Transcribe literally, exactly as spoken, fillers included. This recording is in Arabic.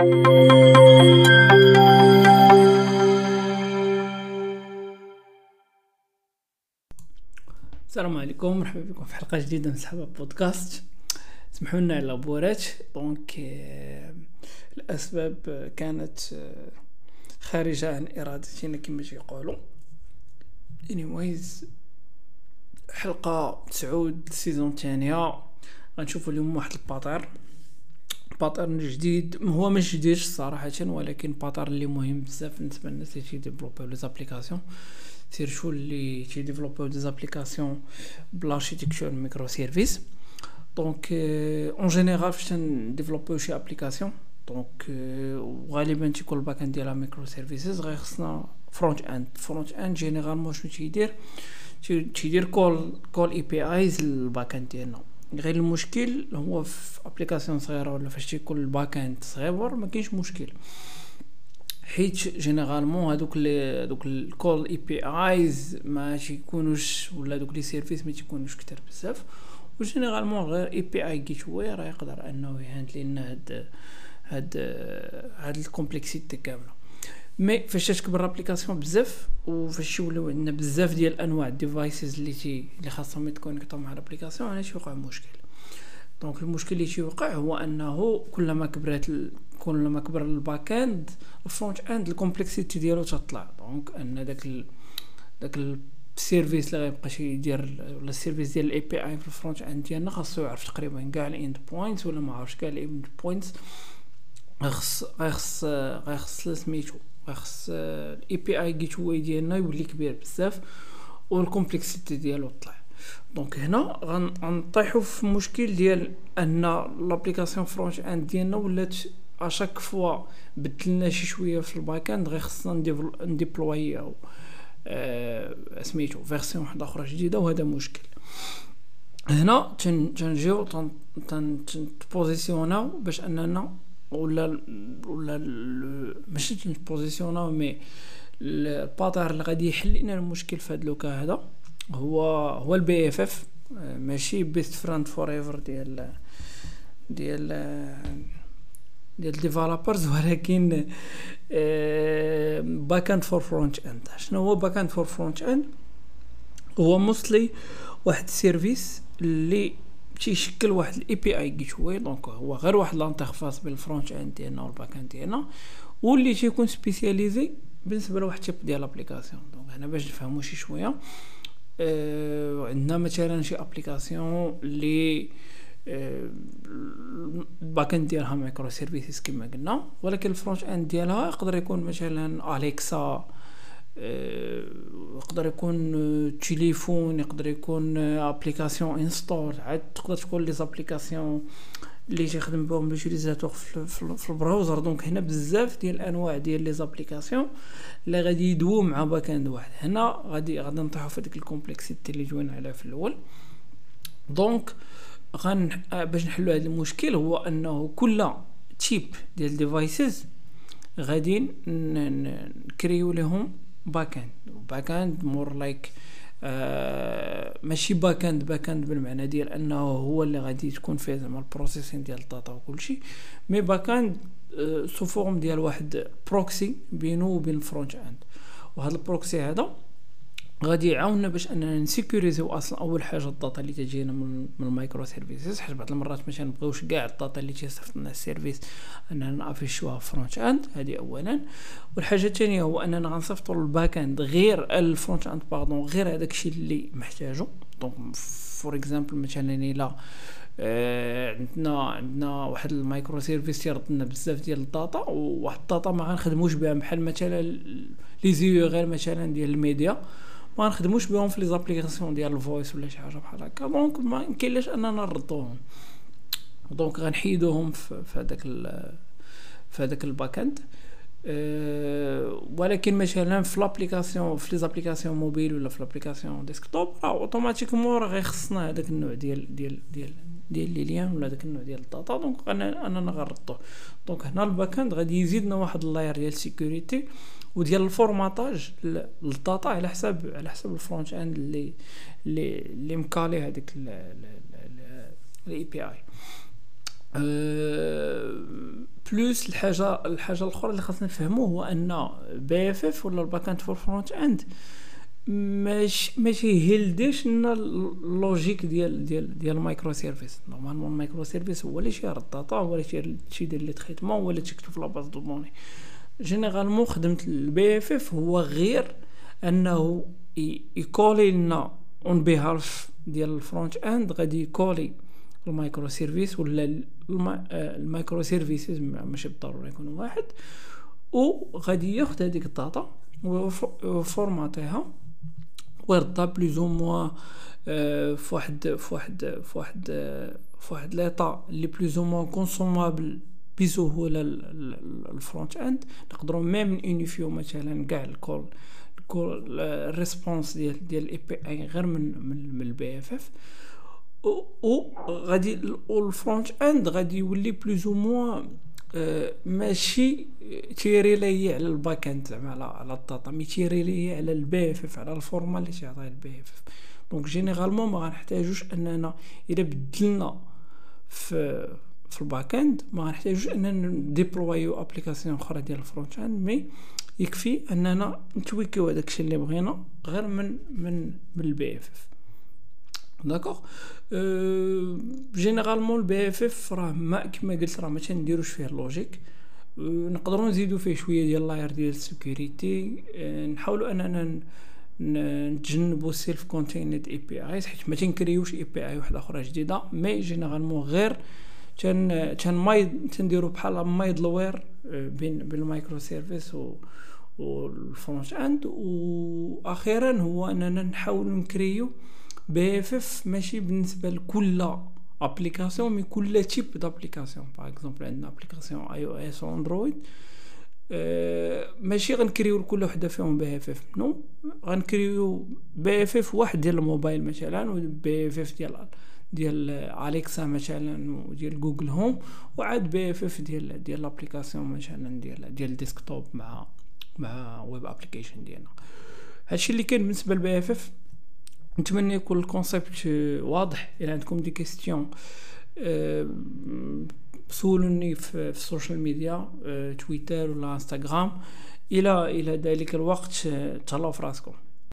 السلام عليكم، مرحبا بكم في حلقه جديده من سحابه بودكاست. سمحوا لنا على لابورات. دونك الاسباب كانت خارجه عن ارادتنا كما يقولوا. anyways حلقه تسعود السيزون الثانيه غنشوفوا اليوم واحد الباتر باترن جديد. هو مش جديد صراحه، ولكن باترن اللي مهم بزاف بالنسبه للناس اللي تيديفلوبيو لي زابليكاسيون، سيرشو اللي تيديفلوبيو دي زابليكاسيون بلاركتيكتور ميكرو سيرفيس. دونك اون جينيرال فاش نديفلوبيو شي ابليكاسيون، دونك غالبا تيكون الباك اند ديالها ميكرو سيرفيسز، غير خصنا فرونت اند. فرونت اند جينيرالمون شنو تيدير؟ تيدير كول كول اي بي ايز للباك اند ديالنا. غير المشكل هو في ابليكاسيون صغيره ولا فاش تيكون الباك اند صغير ما كاينش مشكل، حيت جينيرالمون هذوك لي دوك الكول اي بي ايز ما تيكونوش، ولا دوك لي سيرفيس ما تيكونوش كتير بزاف، وجينيرالمون غير اي بي اي جيت واي راه يقدر انه يهاندلي لنا هاد هاد هاد الكومبلكسيتي كامله. مي فاش تكبر الابليكاسيون بزاف وفاش يوليو عندنا بزاف ديال انواع الديفايسز اللي تي اللي خاصهم يتكونيكطوا مع الابليكاسيون، انا تيوقع مشكل. دونك المشكل اللي تيوقع هو انه كلما كبرت ال... كلما كبر الباك اند الفرونت اند الكومبلكسيتي ديالو تطلع. دونك ان داك ال... داك السيرفيس اللي غيبقى شي يدير، ولا السيرفيس ديال الاي بي اي في الفرونت اند ديالنا خاصو يعرف تقريبا كاع الاند بوينتس، ولا ما عرفش كاع الاند بوينتس. غيخص غيخص غيخص سميتو غيخص الاي بي اي جيت واي ديالنا يولي كبير بزاف والكومبلكسيتي ديالو طلع. دونك هنا غنطيحوا في مشكل ديال ان لابليكاسيون فرونت اند ديالنا ولات اشاك فوا بدلنا شي شويه في الباك اند غير خصنا نديبلويو أه سميتو فيرسيون واحده اخرى جديده، وهذا مشكل. هنا تنجيو تنبوزيسيوناو باش اننا ولا ولا ماشي تنبوزيسيوناو مي الباتر اللي غادي يحل لنا المشكل في هذا لوكا هذا هو هو البي اف اف، ماشي بيست فريند فور ايفر ديال ديال ديال ديفلوبرز، ولكن باك اند فور فرونت اند. شنو هو باك اند فور فرونت اند؟ هو موستلي واحد السيرفيس اللي تيشكل واحد الاي بي اي جيت واي. دونك هو غير واحد لانترفاس بين الفرونت اند ديالنا والباك اند ديالنا، واللي تيكون سبيسياليزي بالنسبه لواحد تيب ديال الابليكاسيون. دونك هنا باش نفهموا شي شويه، أه عندنا مثلا شي ابليكاسيون اللي أه الباك اند ديالها مايكرو سيرفيسز كما قلنا، ولكن الفرونت اند ديالها يقدر يكون مثلا اليكسا، أه يقدر يكون تليفون، يقدر يكون ابليكاسيون انستول، عاد تقدر تكون لي زابليكاسيون اللي تخدم بهم لوتيليزاتور في, في البراوزر. دونك هنا بزاف ديال الانواع ديال لي زابليكاسيون اللي غادي يدوو مع باك اند واحد. هنا غادي غادي نطيحوا في ديك الكومبلكسيتي اللي جوينا عليها في الاول. دونك غن باش نحلوا هذا المشكل هو انه كل تيب ديال ديفايسز غادي نكريو لهم باك اند. باك اند مور لايك آه ماشي باك اند باك اند بالمعنى ديال انه هو اللي غادي تكون فيه زعما البروسيسين ديال الداتا وكل شيء، مي باك اند آه سو فورم ديال واحد بروكسي بينه وبين الفرونت اند. وهذا البروكسي هذا غادي يعاوننا باش اننا نسيكوريزيو اصلا اول حاجه الداتا اللي تجينا من, من المايكرو سيرفيسز، حيت بعض المرات ما تنبغيوش كاع الداتا اللي تيصيفط لنا السيرفيس اننا نافيشوها فرونت اند. هذه اولا. والحاجه الثانيه هو اننا غنصيفطوا للباك اند غير الفرونت اند باردون غير هذاك الشيء اللي محتاجه. دونك فور اكزامبل مثلا الا آه عندنا عندنا واحد المايكرو سيرفيس تيرد لنا بزاف ديال الداتا، وواحد الداتا ما غنخدموش بها، بحال مثلا لي زيو غير مثلا ديال الميديا ما نخدموش بهم في لي زابليكاسيون ديال الفويس ولا شي حاجه بحال هكا. دونك ما كاينلاش اننا نردوهم، دونك غنحيدوهم في هذاك في هذاك الباك اند. أه ولكن مثلا في لابليكاسيون في لي زابليكاسيون موبيل ولا في لابليكاسيون ديسكتوب راه اوتوماتيكمون راه غيخصنا هذاك النوع ديال ديال ديال ديال لي ليان ولا داك النوع ديال الداتا. دونك انا انا نغردوه. دونك هنا الباك اند غادي يزيدنا واحد اللاير ديال سيكوريتي وديال الفورماتاج للداتا على حساب على حساب الفرونت اند اللي اللي اللي مكالي هذيك الاي بي اي. أه بلوس الحاجه الحاجه الاخرى اللي خاصنا نفهموه هو ان بي اف اف ولا الباك اند فور فرونت اند ماشي ماشي هيلديش لنا اللوجيك ديال ديال ديال المايكرو سيرفيس. نورمالمون المايكرو سيرفيس هو اللي شير الداتا، هو اللي شير شي ديال لي تريتمون، هو اللي تكتب في لاباز دو دوني. جينيرالمون خدمه البي اف اف هو غير انه يكولي لنا اون بيهاف ديال الفرونت اند، غادي يكولي المايكرو سيرفيس ولا المايكرو سيرفيسز ماشي بالضروره يكونوا واحد، وغادي ياخذ هذيك الداتا وفورماتيها ويردها بلوز او موا فواحد فواحد فواحد فواحد ليطا اللي بلوز او موا كونسومابل بسهوله. الفرونت اند نقدروا ميم يونيفيو مثلا كاع الكول الكول الريسبونس ديال ديال الاي بي اي غير من من البي اف اف، و غادي الفرونت اند غادي يولي بلوز او موا ماشي تيري لي على الباك اند زعما على على الداتا، مي تيري لي على البي اف اف، على الفورما اللي تيعطيه البي اف اف. دونك جينيرالمون ما غنحتاجوش اننا الا بدلنا في في الباك اند ما غنحتاجوش اننا نديبلويو ابليكاسيون اخرى ديال الفرونت اند، مي يكفي اننا نتويكيو هذاك الشيء اللي بغينا غير من من من البي اف اف. داكوغ أه جينيرالمون البي اف اف راه ما كما قلت راه ما تنديروش فيه اللوجيك، أه نقدروا نزيدوا فيه شويه ديال لاير ديال السيكوريتي، أه نحاولوا اننا نتجنبوا السيلف كونتيند اي بي اي حيت ما تنكريوش اي بي اي واحده اخرى جديده، مي جينيرالمون غير تن تن ماي تنديروا بحال مايدلوير بين بين المايكرو سيرفيس و والفرونت اند. واخيرا هو اننا نحاولوا نكريو بي اف اف ماشي بالنسبه لكل ابليكاسيون، مي كل تيب دابليكاسيون. باغ اكزومبل عندنا ابليكاسيون اي او اس و اندرويد، أه ماشي غنكريو لكل وحده فيهم بي اف اف، نو غنكريو بي اف اف واحد ديال الموبايل مثلا، و بي اف اف ديال ديال اليكسا مثلا وديال جوجل هوم، وعاد بي اف اف ديال ديال لابليكاسيون مثلا ديال ديال الديسكتوب مع مع ويب ابليكيشن ديالنا. هادشي اللي كاين بالنسبه للبي اف اف. نتمنى يكون الكونسيبت واضح. الى عندكم دي كيستيون أه سولوني في السوشيال ميديا، أه تويتر ولا انستغرام. الى الى ذلك الوقت تهلاو في راسكم.